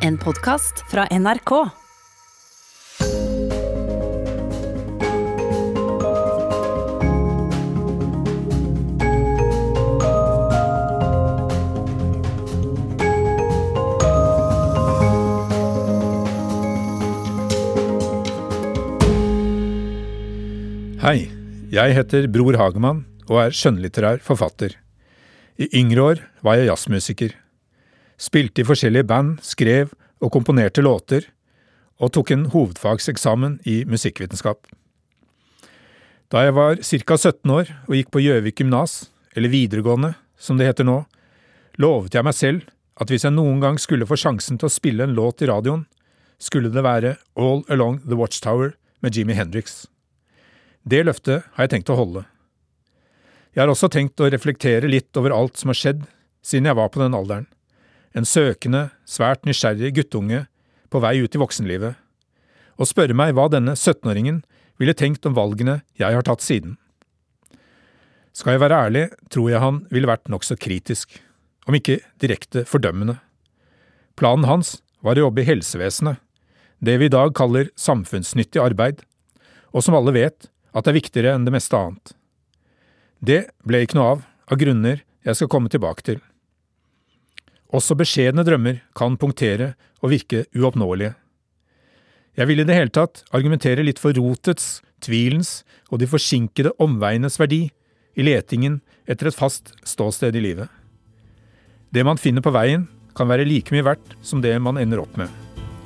En podcast fra NRK. Hei, jeg heter Bror Hagemann og skjønnlitterær forfatter. I yngre år var jeg jazzmusiker. Spilte i forskjellige band, skrev og komponerte låter, og tok en hovedfagseksamen i musikkvitenskap. Da jeg var ca. 17 år og gikk på Gjøvik gymnas, eller videregående, som det heter nå, lovet jeg meg selv at hvis jeg noen gang skulle få sjansen til å spille en låt i radioen, skulle det være All Along the Watchtower med Jimi Hendrix. Det løftet har jeg tenkt å holde. Jeg har også tenkt å reflektere litt over alt som har skjedd siden jeg var på den alderen. En søkende, svært nysgjerrig guttunge på vei ut i voksenlivet, og spørre meg hva denne 17-åringen ville tenkt om valgene jeg har tatt siden. Skal jeg være ærlig, tror jeg han ville vært nok så kritisk, om ikke direkte fordømmende. Planen hans var å jobbe i helsevesenet, det vi i dag kaller samfunnsnyttig arbeid, og som alle vet at det er viktigere enn det meste annet. Det ble ikke noe av grunner jeg skal komme tilbake til. Også beskjedne drømmer kan punktere og virke uoppnåelige. Jeg vil i det hele tatt argumentere litt for rotets, tvilens og de forsinkede omveienes verdi i letingen etter et fast ståsted i livet. Det man finner på veien kan være like mye verdt som det man ender opp med.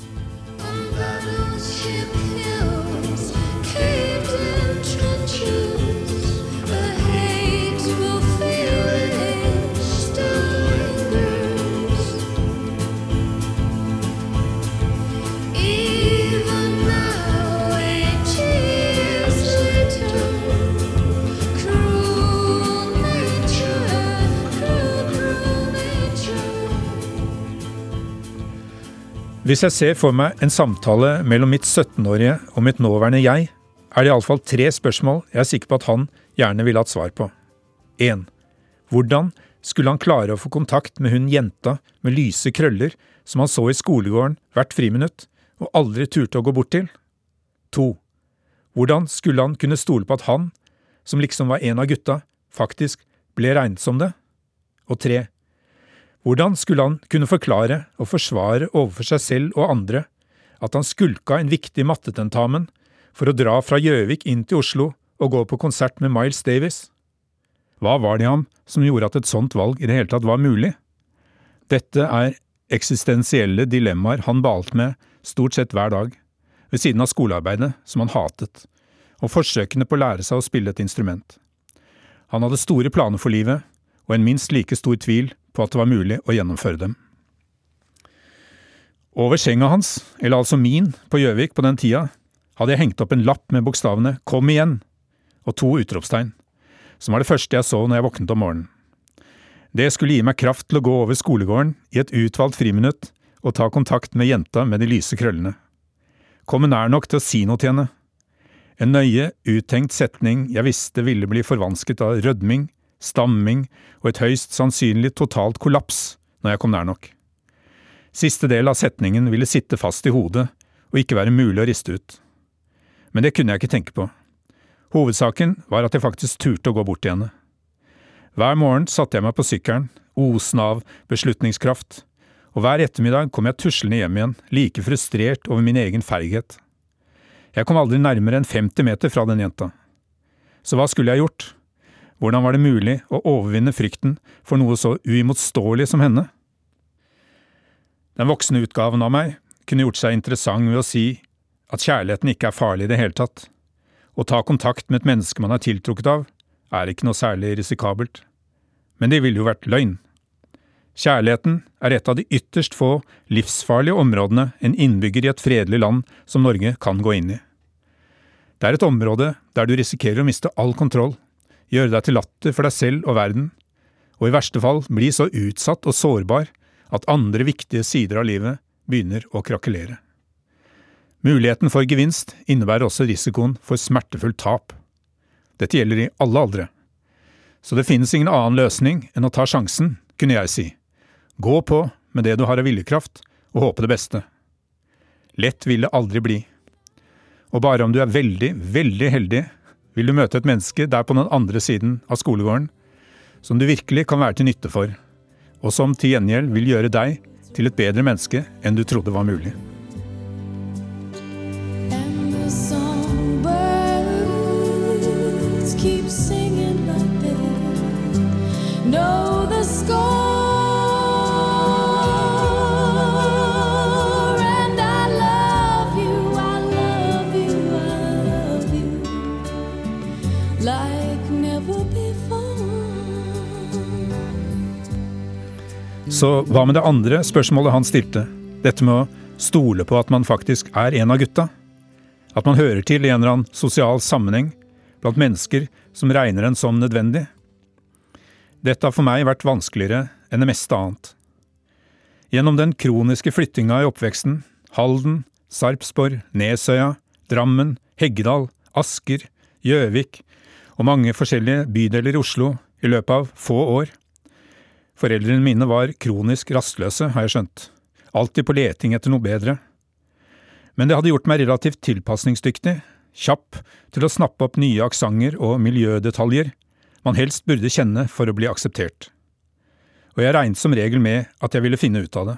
Hvis jeg ser for meg en samtale mellom mitt 17-årige og mitt nåværende jeg, det i alle fall 3 spørsmål jeg er sikker på at han gjerne ville hatt svar på. 1. Hvordan skulle han klare å få kontakt med hun jenta med lyse krøller som han så i skolegården hvert friminutt og aldri turte å gå bort til? 2. Hvordan skulle han kunne stole på at han, som liksom var en av gutta, faktisk ble regnet som det? Og 3. Hvordan skulle han kunne forklare og forsvare overfor seg selv og andre at han skulka en viktig mattetentamen for å dra fra Gjøvik inn til Oslo og gå på konsert med Miles Davis? Hva var det i ham som gjorde at et sånt valg i det hele tatt var mulig? Dette eksistensielle dilemmaer han balte med stort sett hver dag, ved siden av skolearbeidet som han hatet, og forsøkene på å lære seg å spille et instrument. Han hadde store planer for livet, og en minst like stor tvil på at det var mulig å gjennomføre dem. Over senga hans, eller altså min, på Gjøvik på den tida, hadde jeg hengt opp en lapp med bokstavene «Kom igjen» og 2 utropstegn, som var det første jeg så når jeg våknet om morgenen. Det skulle gi meg kraft til å gå over skolegården i et utvalgt friminutt og ta kontakt med jenta med de lyse krøllene. Komme nær nok til å si noe til henne. En nøye, uttenkt setning jeg visste ville bli forvansket av rødming, stamming og et høyst sannsynlig totalt kollaps når jeg kom nær nok. Siste del av setningen ville sitte fast i hodet og ikke være mulig å riste ut. Men det kunne jeg ikke tenke på. Hovedsaken var at jeg faktisk turte å gå bort til henne. Hver morgen satte jeg meg på sykkelen, osen av beslutningskraft, og hver ettermiddag kom jeg tuslende hjem igjen, like frustrert over min egen feighet. Jeg kom aldri nærmere enn 50 meter fra den jenta. Så hva skulle jeg gjort? Hvordan var det mulig å overvinne frykten for noe så uimotståelig som henne? Den voksne utgaven av meg kunne gjort seg interessant ved å si at kjærligheten ikke farlig i det hele tatt. Å ta kontakt med et menneske man tiltrukket av ikke noe særlig risikabelt. Men det ville jo vært løgn. Kjærligheten et av de ytterst få livsfarlige områdene en innbygger i et fredelig land som Norge kan gå inn i. Det et område der du risikerer å miste all kontroll, gjøre deg til latter for deg selv og verden, og i verste fall bli så utsatt og sårbar at andre viktige sider av livet begynner å krakelere. Muligheten for gevinst innebærer også risikoen for smertefullt tap. Dette gjelder i alle aldre. Så det finnes ingen annen løsning enn å ta sjansen, kunne jeg si. Gå på med det du har av viljekraft, og håpe det beste. Lett vil det aldri bli. Og bare om du er veldig, veldig heldig, vil du møte et menneske der på den andre siden av skolegården, som du virkelig kan være til nytte for, og som til gjengjeld vil gjøre deg til et bedre menneske enn du trodde var mulig. Keep singing like they know the score, and I love you, I love you, I love you like never before. Så hva med det andre spørsmålet han stilte? Dette med å stole på at man faktisk er en av gutta? At man hører til i en eller annen sosial sammenheng blant mennesker som regner en som nødvendig. Dette har for meg vært vanskeligere enn det meste annet. Gjennom den kroniske flyttinga i oppveksten, Halden, Sarpsborg, Nesøya, Drammen, Heggedal, Asker, Gjøvik og mange forskjellige bydeler i Oslo i løpet av få år. Foreldrene mine var kronisk rastløse, har jeg skjønt. Alltid på leting etter noe bedre. Men det hadde gjort meg relativt tilpasningsdyktig, kjapp til å snappe opp nye aksanger og miljødetaljer man helst burde kjenne for å bli akseptert. Og jeg regnet som regel med at jeg ville finne ut av det.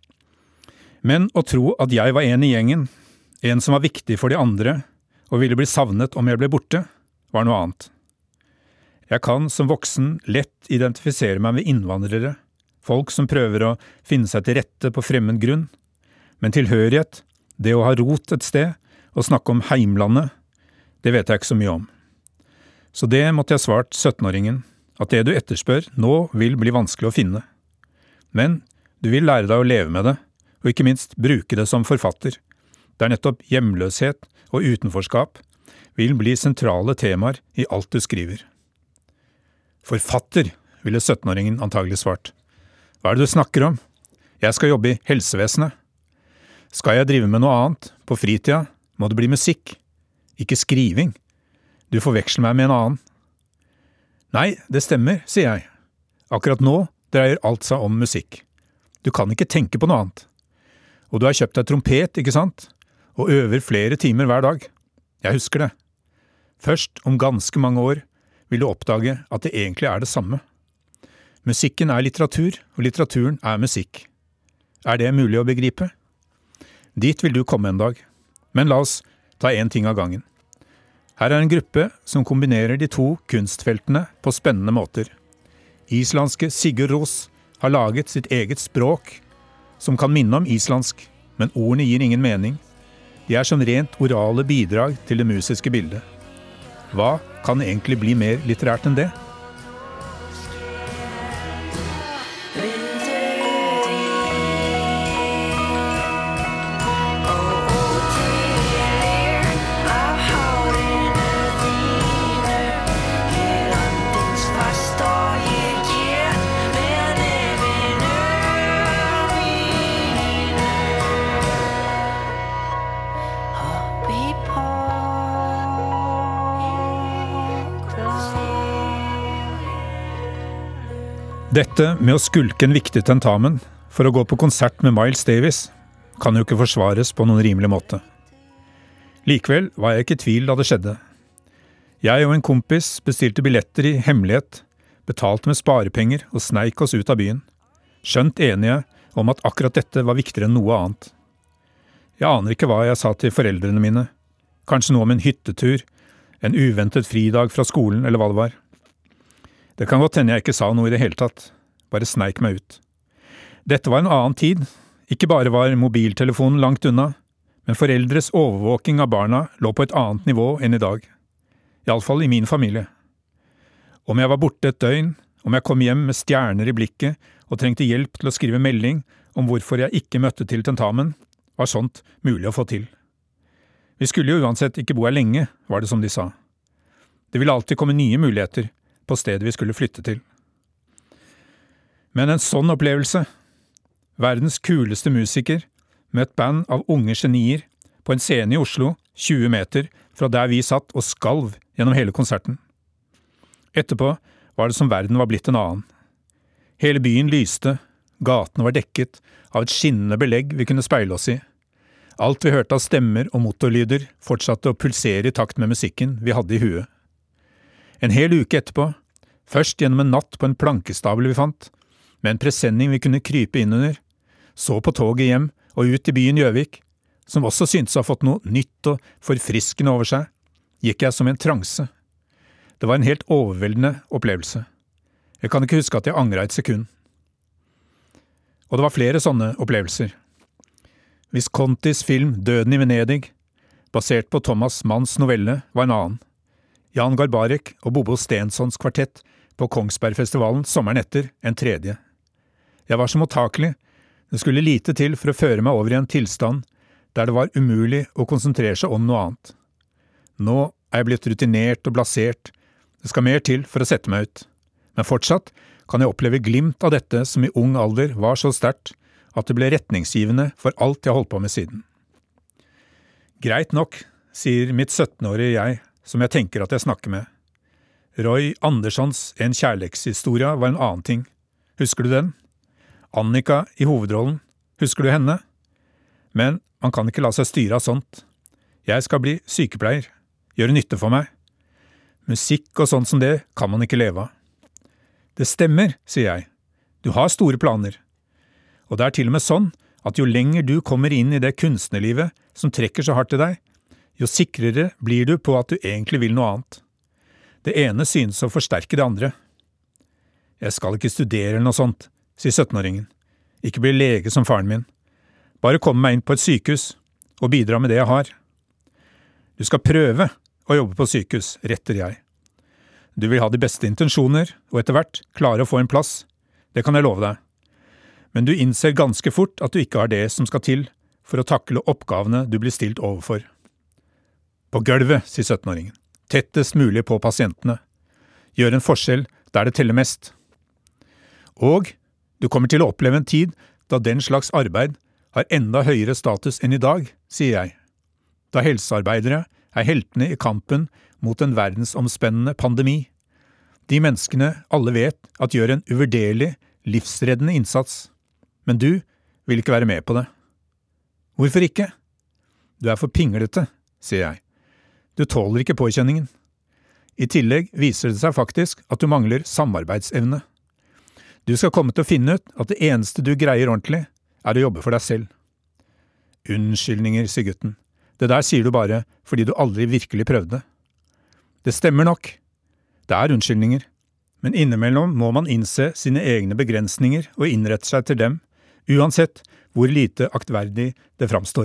Men å tro at jeg var en i gjengen, en som var viktig for de andre, og ville bli savnet om jeg ble borte, var noe annet. Jeg kan som voksen lett identifisere meg med innvandrere, folk som prøver å finne seg til rette på fremmed grunn, men tilhørighet, det å ha rot et sted, og snakke om heimlandet, det vet jeg ikke så mye om. Så det måtte jeg svart 17-åringen, at det du etterspør nå vil bli vanskelig å finne. Men du vil lære deg å leve med det, og ikke minst bruke det som forfatter, der nettopp hjemløshet og utenforskap vil bli sentrale temaer i alt du skriver. Forfatter, ville 17-åringen antagelig svart. Hva er det du snakker om? Jeg skal jobbe i helsevesenet. Skal jeg drive med noe annet, på fritida, må det bli musikk, ikke skriving. Du forveksler meg med en annen. Nei, det stemmer, sier jeg. Akkurat nå dreier alt seg om musikk. Du kan ikke tenke på noe annet. Og du har kjøpt deg trompet, ikke sant? Og øver flere timer hver dag. Jeg husker det. Først om ganske mange år vil du oppdage at det egentlig er det samme. Musikken er litteratur, og litteraturen er musikk. Er det mulig å begripe? Dit vil du komme en dag. Men la oss ta en ting av gangen. Her er en gruppe som kombinerer de to kunstfeltene på spennende måter. Islandske Sigurd Rós har laget sitt eget språk, som kan minne om islandsk, men ordene gir ingen mening. De er som rent orale bidrag til det musiske bildet. Hva kan egentlig bli mer litterært enn det? Dette med å skulke en viktig tentamen for å gå på konsert med Miles Davis kan jo ikke forsvares på noen rimelig måte. Likevel var jeg ikke i tvil da det skjedde. Jeg og en kompis bestilte billetter i hemmelighet, betalte med sparepenger og sneik oss ut av byen, skjønt enige om at akkurat dette var viktigere enn noe annet. Jeg aner ikke hva jeg sa til foreldrene mine, kanskje noe om en hyttetur, en uventet fridag fra skolen eller hva det var. Det kan godt hende jeg ikke sa noe i det hele tatt, bare sneik meg ut. Dette var en annen tid, ikke bare var mobiltelefonen langt unna, men foreldres overvåking av barna lå på et annet nivå enn i dag. I alle fall i min familie. Om jeg var borte et døgn, om jeg kom hjem med stjerner i blikket og trengte hjelp til å skrive melding om hvorfor jeg ikke møtte til tentamen, var sånt mulig å få til. Vi skulle jo uansett ikke bo her lenge, var det som de sa. Det ville alltid komme nye muligheter på stedet vi skulle flytte til. Men en sånn opplevelse, verdens kuleste musiker, med et band av unge genier på en scene i Oslo, 20 meter fra der vi satt og skalv gjennom hele konserten. Etterpå var det som verden var blitt en annen. Hele byen lyste, gatene var dekket av et skinnende belegg vi kunne speile oss i. Alt vi hørte av stemmer og motorlyder fortsatte å pulsere i takt med musikken vi hadde i huet. En hel uke etterpå, først gjennom en natt på en plankestabel vi fant, med en presenning vi kunne krype inn under, så på toget hjem og ut i byen Gjøvik, som også syntes å ha fått noe nytt og forfriskende over seg, gikk jeg som i en transe. Det var en helt overveldende opplevelse. Jeg kan ikke huske at jeg angret et sekund. Og det var flere sånne opplevelser. Viscontis film Døden i Venedig, basert på Thomas Manns novelle, var en annen. Jan Garbarek og Bobo Stensons kvartett på Kongsbergfestivalen sommeren etter en tredje. Jeg var så mottakelig, det skulle lite til for å føre meg over i en tilstand der det var umulig å konsentrere seg om noe annet. Nå er jeg blitt rutinert og blasert, det skal mer til for å sette meg ut. Men fortsatt kan jeg oppleve glimt av dette som i ung alder var så sterkt at det ble retningsgivende for alt jeg holdt på med siden. Greit nok, sier mitt 17-årige jeg, som jeg tenker at jeg snakker med. Roy Anderssons En kjærlighetshistorie var en annen ting. Husker du den? Annika i hovedrollen. Husker du henne? Men man kan ikke la seg styre av sånt. Jeg skal bli sykepleier. Gjøre nytte for meg. Musikk og sånt som det kan man ikke leve av. Det stemmer, sier jeg. Du har store planer. Og det er til og med sånn at jo lenger du kommer inn i det kunstnerlivet som trekker så hardt til deg, jo sikrere blir du på at du egentlig vil noe annet. Det ene synes å forsterke det andre. Jeg skal ikke studere eller noe sånt, sier 17-åringen. Ikke bli lege som faren min. Bare komme meg inn på et sykehus og bidra med det jeg har. Du skal prøve å jobbe på sykehus, retter jeg. Du vil ha de beste intensjoner, og etter hvert klare å få en plass. Det kan jeg love deg. Men du innser ganske fort at du ikke har det som skal til for å takle oppgavene du blir stilt overfor. På gulvet, sier 17-åringen. Tettest mulig på pasientene. Gjør en forskjell der det teller mest. Og du kommer til å oppleve en tid da den slags arbeid har enda høyere status enn i dag, sier jeg. Da helsearbeidere er heltene i kampen mot en verdensomspennende pandemi. De menneskene alle vet at gjør en uvurderlig, livsreddende innsats. Men du vil ikke være med på det. Hvorfor ikke? Du er for pinglete, sier jeg. Du tåler ikke påkjenningen. I tillegg viser det seg faktisk at du mangler samarbeidsevne. Du skal komme til å finne ut at det eneste du greier ordentlig, er å jobbe for deg selv. Unnskyldninger, sier gutten. Det der sier du bare fordi du aldri virkelig prøvde. Det stemmer nok. Det er unnskyldninger. Men innimellom må man innse sine egne begrensninger og innrette seg til dem, uansett hvor lite aktverdig det framstår.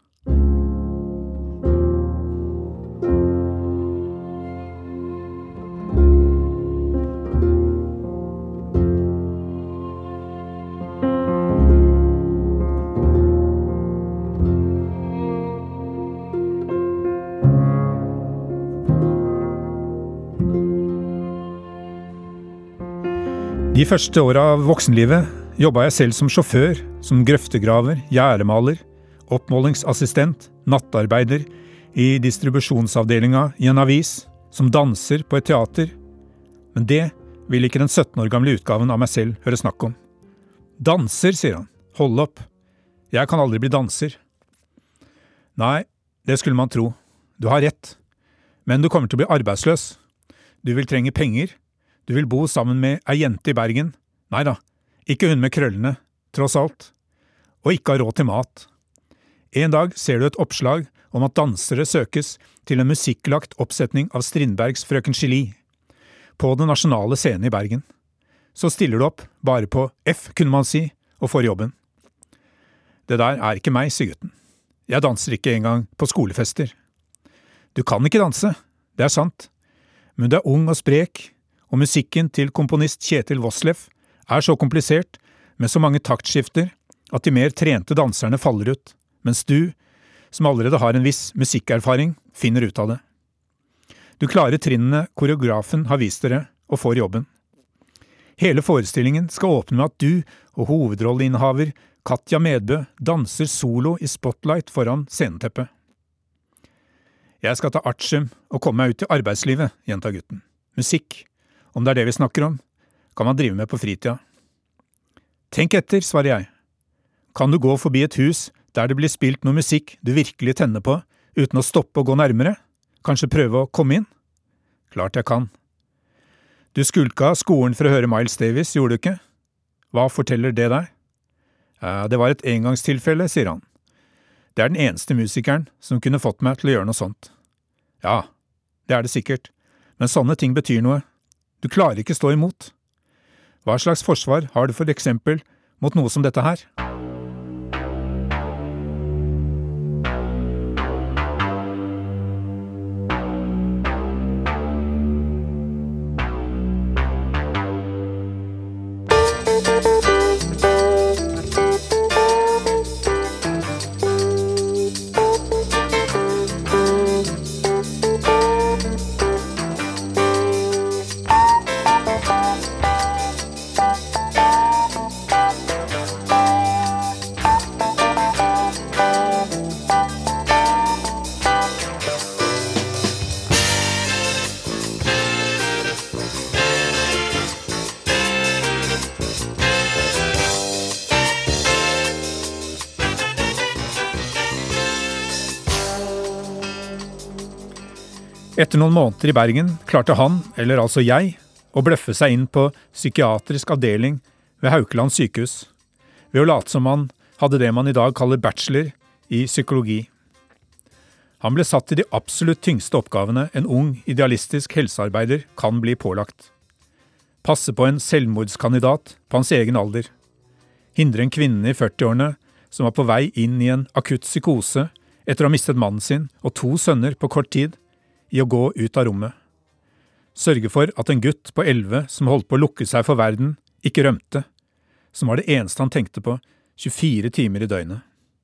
De første årene av voksenlivet jobbet jeg selv som sjåfør, som grøftegraver, gjerdemaler, oppmålingsassistent, nattarbeider i distribusjonsavdelinga i en avis, som danser på et teater. Men det vil ikke den 17 år gamle utgaven av meg selv høre snakk om. Danser, sier han. Hold opp. Jeg kan aldri bli danser. Nei, det skulle man tro. Du har rett. Men du kommer til å bli arbeidsløs. Du vil trenge penger. Du vil bo sammen med ei jente i Bergen. Neida, ikke hun med krøllene, tross alt. Og ikke ha råd til mat. En dag ser du et oppslag om at dansere søkes til en musikklagt oppsetning av Strindbergs Frøken Julie på den nasjonale scenen i Bergen. Så stiller du opp, bare på F, kunne man si, og får jobben. Det der er ikke meg, sier gutten. Jeg danser ikke engang på skolefester. Du kan ikke danse, det er sant. Men du er ung og sprek, og musikken til komponist Kjetil Voslef er så komplisert, med så mange taktskifter, at de mer trente danserne faller ut, mens du, som allerede har en viss musikkerfaring, finner ut av det. Du klarer trinnene koreografen har vist dere, og får jobben. Hele forestillingen skal åpne med at du og hovedrolleinnehaver Katja Medbø danser solo i spotlight foran sceneteppet. Jeg skal ta artium og komme meg ut i arbeidslivet, gjentar gutten. Musikk. Om det er det vi snakker om, kan man drive med på fritida. Tenk etter, svarer jeg. Kan du gå forbi et hus der det blir spilt noe musikk du virkelig tenner på, uten å stoppe og gå nærmere? Kanskje prøve å komme inn? Klart jeg kan. Du skulka skolen for å høre Miles Davis, gjorde du ikke? Hva forteller det deg? Det var et engangstilfelle, sier han. Det er den eneste musikeren som kunne fått meg til å gjøre noe sånt. Ja, det er det sikkert, men sånne ting betyr noe. Du klarer ikke stå imot. Hva slags forsvar har du for eksempel mot noe som dette her? Etter noen måneder i Bergen klarte han, eller altså jeg, å bløffe seg inn på psykiatrisk avdeling ved Haukeland sykehus, ved å late som han hadde det man i dag kaller bachelor i psykologi. Han ble satt til de absolutt tyngste oppgavene en ung, idealistisk helsearbeider kan bli pålagt. Passe på en selvmordskandidat på hans egen alder. Hindre en kvinne i 40-årene som var på vei inn i en akutt psykose etter å ha mistet mannen sin og 2 sønner på kort tid, i å gå ut av rommet. Sørge for at en gutt på 11 som holdt på å lukke seg for verden, ikke rømte, som var det eneste han tenkte på 24 timer i døgnet.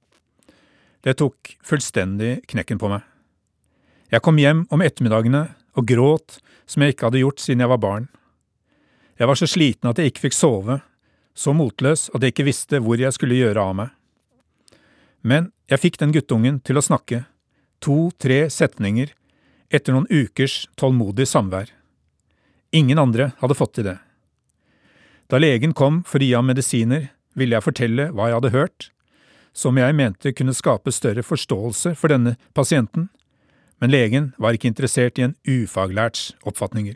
Det tok fullstendig knekken på meg. Jeg kom hjem om ettermiddagene og gråt som jeg ikke hadde gjort siden jeg var barn. Jeg var så sliten at jeg ikke fikk sove, så motløs at jeg ikke visste hvor jeg skulle gjøre av meg. Men jeg fikk den guttungen til å snakke, 2-3 setninger, etter noen ukers tålmodig samvær. Ingen andre hadde fått til det. Da legen kom for å gi ham medisiner, ville jeg fortelle hva jeg hadde hørt, som jeg mente kunne skape større forståelse for denne pasienten, men legen var ikke interessert i en ufaglærts oppfatninger.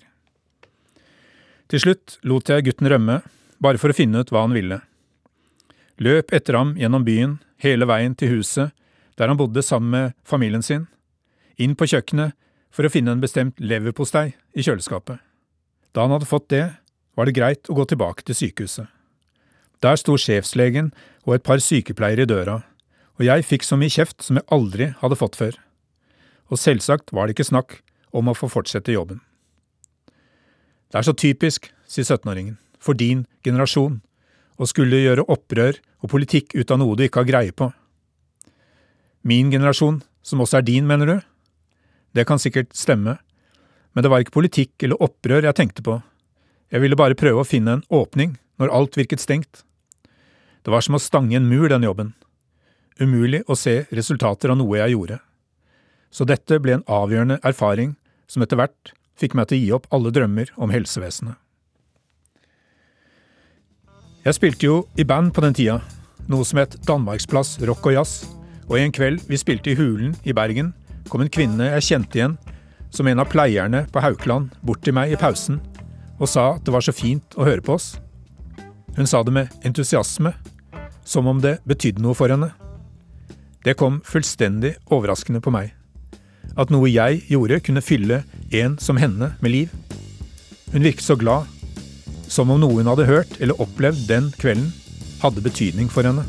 Til slutt lot jeg gutten rømme, bare for å finne ut hva han ville. Løp etter ham gjennom byen, hele veien til huset, der han bodde sammen med familien sin, inn på kjøkkenet, for å finne en bestemt leverpostei i kjøleskapet. Da han hadde fått det, var det greit å gå tilbake til sykehuset. Der sto sjefslegen og et par sykepleiere i døra, og jeg fikk så mye kjeft som jeg aldri hadde fått før. Og selvsagt var det ikke snakk om å få fortsette jobben. Det er så typisk, sier 17-åringen, for din generasjon, å skulle gjøre opprør og politikk ut av noe du ikke har greie på. Min generasjon, som også er din, mener du? Det kan sikkert stemme, men det var ikke politikk eller opprør jeg tenkte på. Jeg ville bare prøve å finne en åpning når alt virket stengt. Det var som å stange en mur, den jobben. Umulig å se resultater av noe jeg gjorde. Så dette ble en avgjørende erfaring som etter hvert fikk meg til å gi opp alle drømmer om helsevesenet. Jeg spilte jo i band på den tida, noe som het Danmarksplass Rock og Jazz, og en kveld vi spilte i Hulen i Bergen, kom en kvinne jeg kjente igjen, som en av pleierne på Haukeland, bort til meg i pausen, og sa at det var så fint å høre på oss. Hun sa det med entusiasme, som om det betydde noe for henne. Det kom fullstendig overraskende på meg. At noe jeg gjorde kunne fylle en som henne med liv. Hun virket så glad, som om noe hun hadde hørt eller opplevd den kvelden, hadde betydning for henne.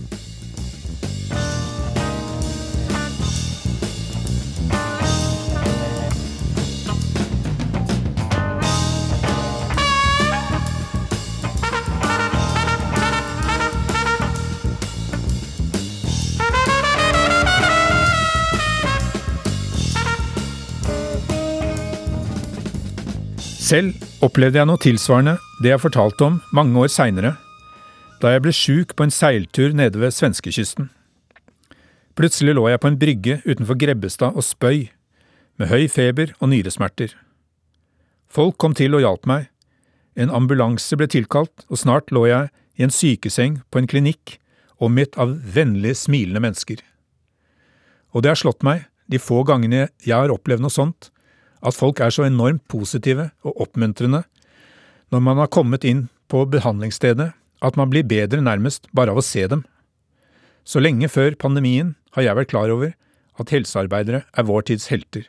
Selv opplevde jeg noe tilsvarende det jeg fortalte om mange år senere, da jeg ble syk på en seiltur nede ved svenskekysten. Plutselig lå jeg på en brygge utenfor Grebbestad og spøy, med høy feber og nyresmerter. Folk kom til og hjalp meg. En ambulanse ble tilkalt, og snart lå jeg i en sykeseng på en klinikk, omgitt av vennlige, smilende mennesker. Og det har slått meg, de få gangene jeg har opplevd noe sånt, at folk er så enormt positive og oppmuntrende når man har kommet inn på behandlingsstedet, at man blir bedre nærmest bare av å se dem. Så lenge før pandemien har jeg vært klar over at helsearbeidere er vår tids helter.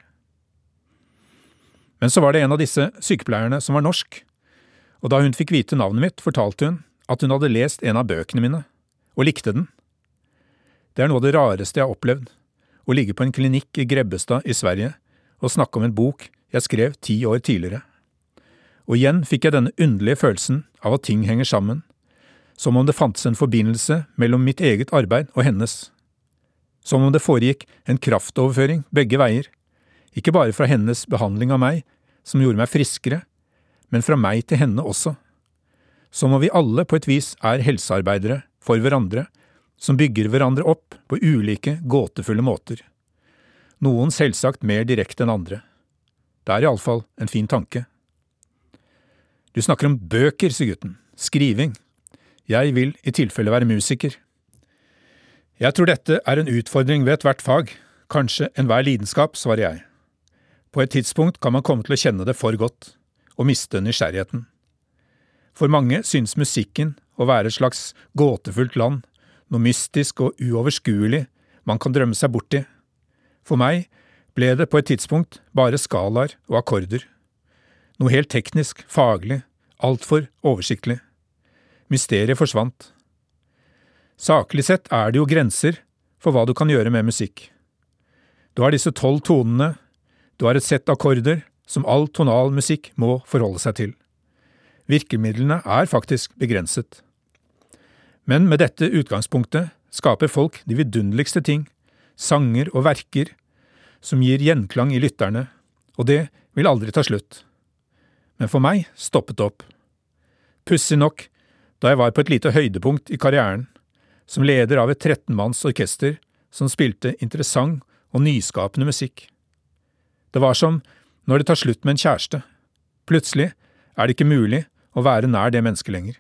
Men så var det en av disse sykepleierne som var norsk, og da hun fikk vite navnet mitt, fortalte hun at hun hadde lest en av bøkene mine, og likte den. Det er noe av det rareste jeg har opplevd, å ligge på en klinikk i Grebbestad i Sverige og snakke om en bok jeg skrev 10 år tidligere. Og igjen fikk jeg denne underlige følelsen av at ting henger sammen, som om det fantes en forbindelse mellom mitt eget arbeid og hennes. Som om det foregikk en kraftoverføring begge veier, ikke bare fra hennes behandling av meg, som gjorde meg friskere, men fra meg til henne også. Som om vi alle på et vis er helsearbeidere for hverandre, som bygger hverandre opp på ulike gåtefulle måter. Noen selvsagt mer direkte enn andre. Det er i alle fall en fin tanke. Du snakker om bøker, sier gutten. Skriving. Jeg vil i tilfelle være musiker. Jeg tror dette er en utfordring ved ethvert fag, kanskje enhver lidenskap, svarer jeg. På et tidspunkt kan man komme til å kjenne det for godt, og miste nysgjerrigheten. For mange synes musikken å være et slags gåtefullt land, noe mystisk og uoverskuelig man kan drømme seg bort i. For meg ble det på et tidspunkt bare skalaer og akkorder. Noe helt teknisk, faglig, altfor oversiktlig. Mysteriet forsvant. Saklig sett er det jo grenser for hva du kan gjøre med musikk. Du har disse 12 tonene, du har et sett akkorder som all tonal musikk må forholde seg til. Virkemidlene er faktisk begrenset. Men med dette utgangspunktet skaper folk de vidunderligste ting, sanger og verker, som gir gjenklang i lytterne, og det vil aldri ta slutt. Men for meg stoppet det opp. Pussig nok, da jeg var på et lite høydepunkt i karrieren, som leder av et 13-manns orkester som spilte interessant og nyskapende musikk. Det var som når det tar slutt med en kjæreste. Plutselig er det ikke mulig å være nær det mennesket lenger.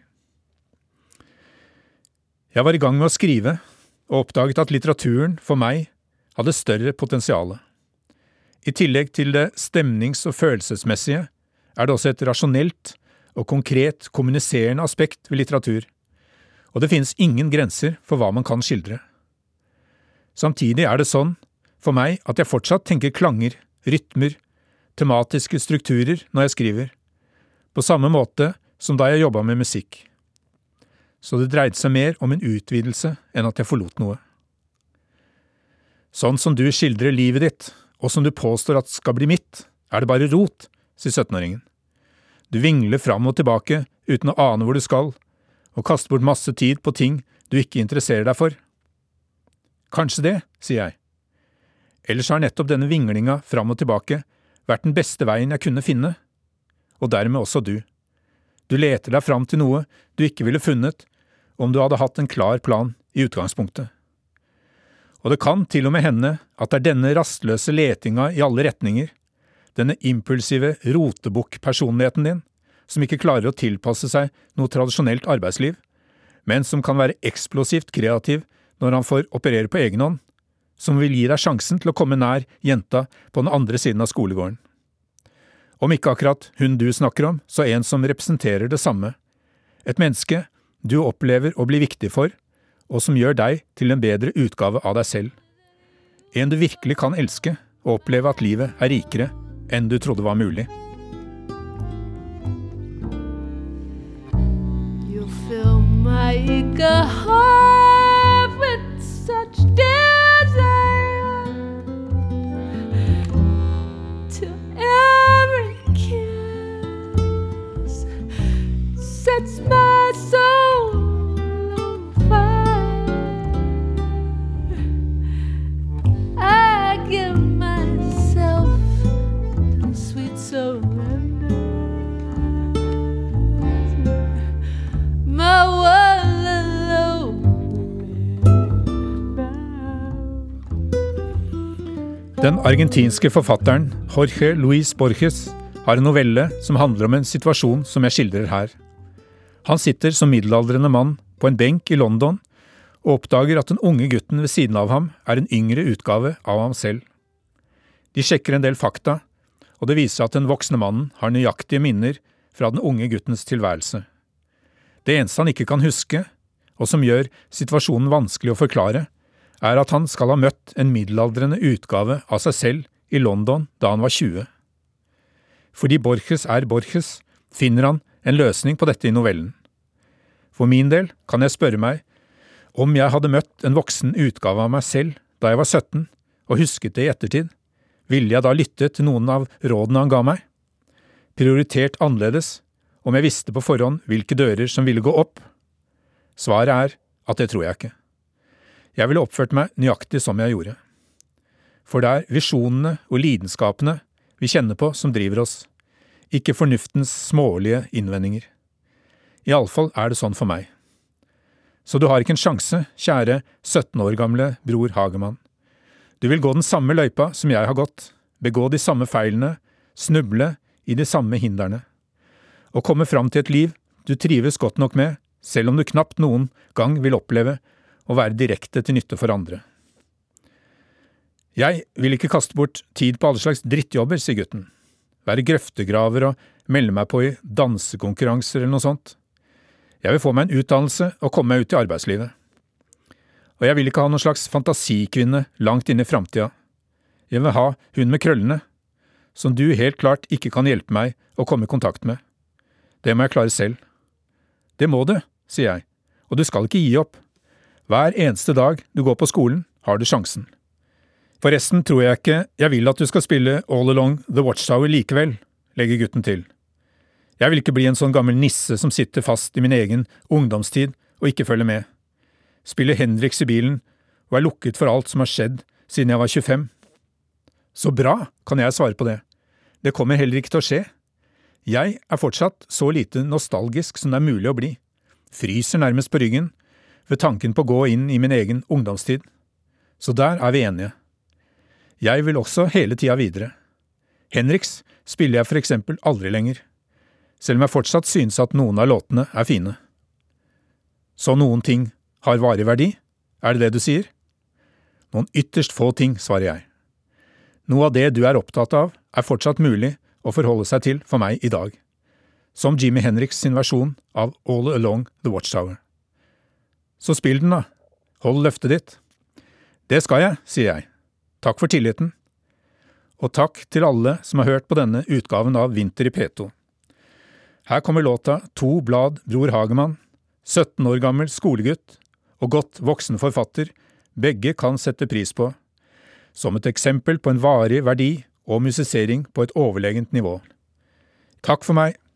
Jeg var i gang med å skrive, og oppdaget at litteraturen for meg hadde større potensiale. I tillegg til det stemnings- og følelsesmessige er det også et rasjonelt og konkret kommuniserende aspekt ved litteratur, og det finnes ingen grenser for hva man kan skildre. Samtidig er det sånn, for meg, at jeg fortsatt tenker klanger, rytmer, tematiske strukturer når jeg skriver, på samme måte som da jeg jobbet med musikk. Så det dreide seg mer om en utvidelse enn at jeg forlot noe. Sånn som du skildrer livet ditt, og som du påstår at skal bli mitt, er det bare rot, sier 17-åringen. Du vingler fram og tilbake uten å ane hvor du skal, og kaster bort masse tid på ting du ikke interesserer deg for. Kanskje det, sier jeg. Ellers har nettopp denne vinglinga fram og tilbake vært den beste veien jeg kunne finne, og dermed også du. Du leter deg fram til noe du ikke ville funnet om du hadde hatt en klar plan i utgangspunktet. Og det kan til og med hende at det er denne rastløse letinga i alle retninger, denne impulsive rotebukk-personligheten din, som ikke klarer å tilpasse seg noe tradisjonelt arbeidsliv, men som kan være eksplosivt kreativ når han får operere på egen hånd, som vil gi deg sjansen til å komme nær jenta på den andre siden av skolegården. Om ikke akkurat hun du snakker om, så en som representerer det samme. Et menneske du opplever å bli viktig for, og som gjør deg til en bedre utgave av deg selv. En du virkelig kan elske, og oppleve at livet er rikere enn du trodde var mulig. You fill my eager heart with such desire to every kiss sets my soul on fire. I give myself to sweet surrender. My one alone Den argentinske forfatteren Jorge Luis Borges har en novelle som handler om en situasjon som jeg skildrer her. Han sitter som middelaldrende mann på en benk i London og oppdager at den unge gutten ved siden av ham er en yngre utgave av ham selv. De sjekker en del fakta, og det viser at den voksne mannen har nøyaktige minner fra den unge guttens tilværelse. Det eneste han ikke kan huske, og som gjør situasjonen vanskelig å forklare, er at han skal ha møtt en middelaldrende utgave av seg selv i London da han var 20. Fordi Borges er Borges, finner han en løsning på dette i novellen. For min del kan jeg spørre meg, om jeg hadde møtt en voksen utgave av meg selv da jeg var 17, og husket det i ettertid, ville jeg da lytte til noen av rådene han ga meg? Prioritert annerledes, om jeg visste på forhånd hvilke dører som ville gå opp? Svaret er at det tror jeg ikke. Jeg ville oppført meg nøyaktig som jeg gjorde. For det er visjonene og lidenskapene vi kjenner på som driver oss, ikke fornuftens smålige innvendinger. I alle fall er det sånn for meg. Så du har ikke en sjanse, kjære 17 år gamle Bror Hagemann. Du vil gå den samme løypa som jeg har gått, begå de samme feilene, snuble i de samme hindrene, og komme fram til et liv du trives godt nok med, selv om du knapt noen gang vil oppleve å være direkte til nytte for andre. Jeg vil ikke kaste bort tid på alle slags drittjobber, sier gutten. Være grøftegraver og melde meg på i dansekonkurranser eller noe sånt. Jeg vil få meg en utdannelse og komme meg ut i arbeidslivet. Og jeg vil ikke ha noen slags fantasikvinne langt inne i fremtiden. Jeg vil ha hun med krøllene, som du helt klart ikke kan hjelpe meg å komme i kontakt med. Det må jeg klare selv. Det må du, sier jeg, og du skal ikke gi opp. Hver eneste dag du går på skolen, har du sjansen. Forresten tror jeg ikke jeg vil at du skal spille All Along the Watchtower likevel, legger gutten til. Jeg vil ikke bli en sånn gammel nisse som sitter fast i min egen ungdomstid og ikke følger med. Spiller Hendrix i bilen og er lukket for alt som har skjedd siden jeg var 25. Så bra, kan jeg svare på det. Det kommer heller ikke til å skje. Jeg er fortsatt så lite nostalgisk som det er mulig å bli. Fryser nærmest på ryggen ved tanken på å gå inn i min egen ungdomstid. Så der er vi enige. Jeg vil også hele tida videre. Hendrix spiller jeg for eksempel aldri lenger, selv om jeg fortsatt synes at noen av låtene er fine. Så noen ting har varig verdi, er det det du sier? Noen ytterst få ting, svarer jeg. Noe av det du er opptatt av er fortsatt mulig å forholde seg til for meg i dag, som Jimi Hendrix sin versjon av All Along the Watchtower. Så spill den da, hold løftet ditt. Det skal jeg, sier jeg. Takk for tilliten. Og takk til alle som har hørt på denne utgaven av Vinter i P2. Her kommer låta To blad Bror Hagemann, 17 år gammel skolegutt og godt voksen forfatter, begge kan sette pris på, som et eksempel på en varig verdi og musisering på et overlegent nivå. Takk for meg.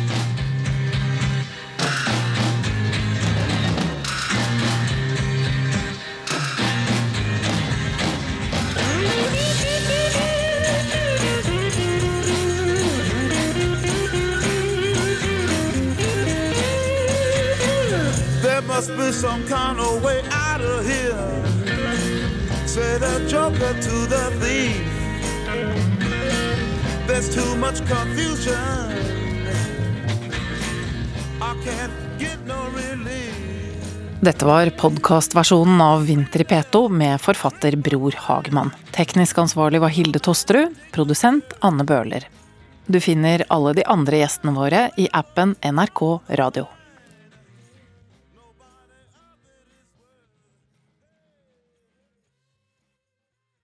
Must be some kind of way out of here, said a joker to the thief. There's too much confusion, I can't get no relief. Dette var podcastversjonen av Vinter i P2 med forfatter Bror Hagemann. Teknisk ansvarlig var Hilde Tosterud, produsent Anne Bøhler. Du finner alle de andre gjestene våre i appen NRK Radio.